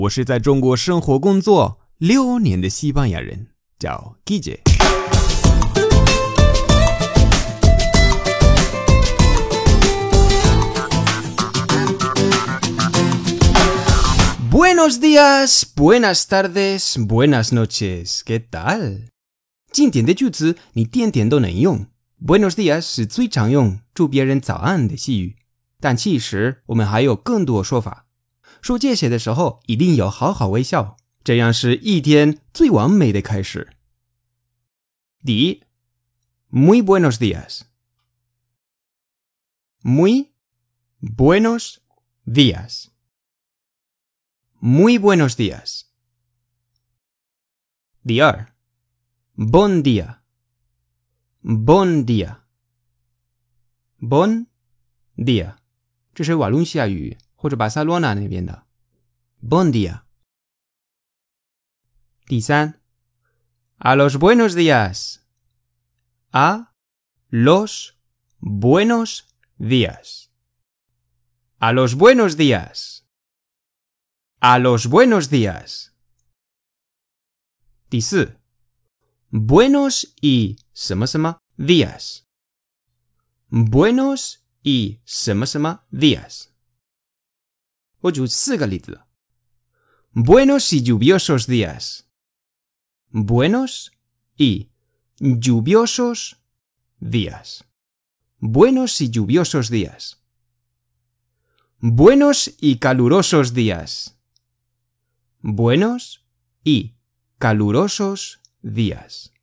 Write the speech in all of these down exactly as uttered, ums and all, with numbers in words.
我是在中国生活工作六年的西班牙人，叫 Guille。Buenos días, buenas tardes, buenas noches. ¿Qué tal? 今天的句子你天天都能用。Buenos días 是最常用祝别人早安的西语，但其实我们还有更多说法。说这些的时候一定要好好微笑，这样是一天最完美的开始。第一 Muy buenos días. Muy buenos días. Muy buenos días. 第二 Bon día. Bon día. Bon día. 这是瓦伦西亚语或者巴塞罗那那边的 Bon día. 第三 A los buenos días. A los buenos días. A los buenos días. A los buenos días. 第四 Buenos y 什么什么 días. Buenos y 什么什么 días. 我举四个例子。Buenos y lluviosos días. Buenos y lluviosos días. Buenos y lluviosos días. Buenos y calurosos días. Buenos y calurosos días.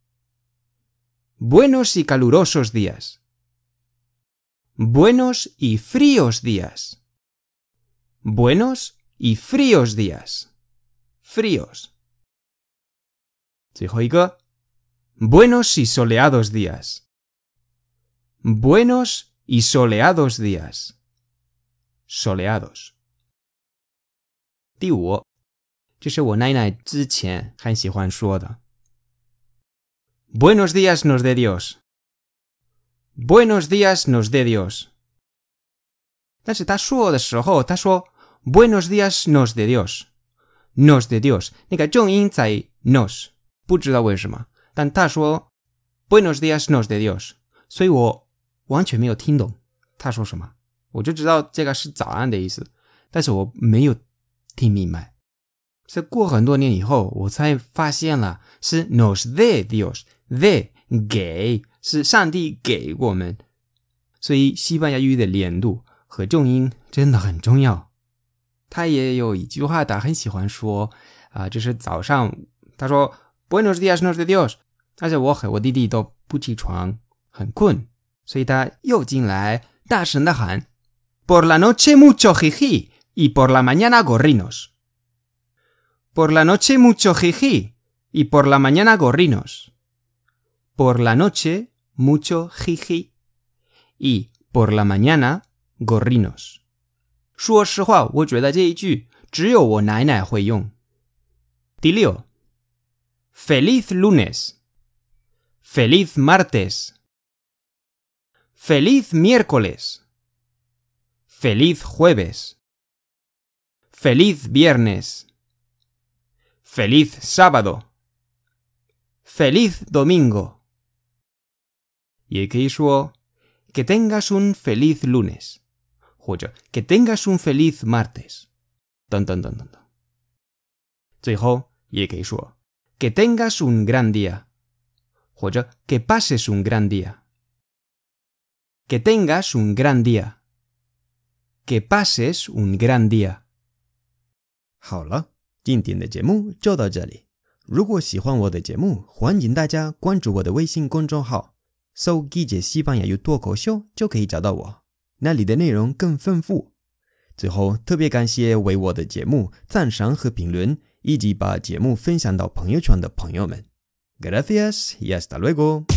Buenos y calurosos días. Buenos y fríos días. Buenos y fríos días. Fríos. 最后一个 Buenos y soleados días. Buenos y soleados días. Soleados. 第五，这是我奶奶之前很喜欢说的。Buenos días nos de Dios. Buenos días nos de Dios. 但是他说的时候，他说 Buenos días nos de Dios. Nos de Dios. 那个重音在 nos. 不知道为什么，但他说 Buenos días nos de Dios. 所以我完全没有听懂他说什么。我就知道这个是早安的意思，但是我没有听明白。是过很多年以后我才发现了是 nos de Dios. De 给是上帝给我们，所以西班牙语的连读和重音真的很重要。他也有一句话他很喜欢说啊、呃，就是早上他说 Buenos días nos de Dios， 但是我和我弟弟都不起床，很困，所以他又进来大声的喊 Por la noche mucho jiji y por la mañana gorrinos. Por la noche mucho jiji y por la mañana gorrinos. Por la noche mucho jiji y por la mañana gorrinos. 说实话，我觉得这一句只有我奶奶会用。第六 Feliz lunes. Feliz martes. Feliz miércoles. Feliz jueves. Feliz viernes. Feliz sábado. Feliz domingo. 也可以说 Que tengas un feliz lunes 或者 Que tengas un feliz martes 等等等等等。最后也可以说 Que tengas un gran día 或者 Que pases un gran día. Que tengas un gran día. Que pases un gran día. 好了，今天的节目就到这里。如果喜欢我的节目，欢迎大家关注我的微信公众号，搜 Guille 西班牙语脱口秀就可以找到我，那里的内容更丰富。最后特别感谢为我的节目赞赏和评论，以及把节目分享到朋友圈的朋友们。Gracias y hasta luego.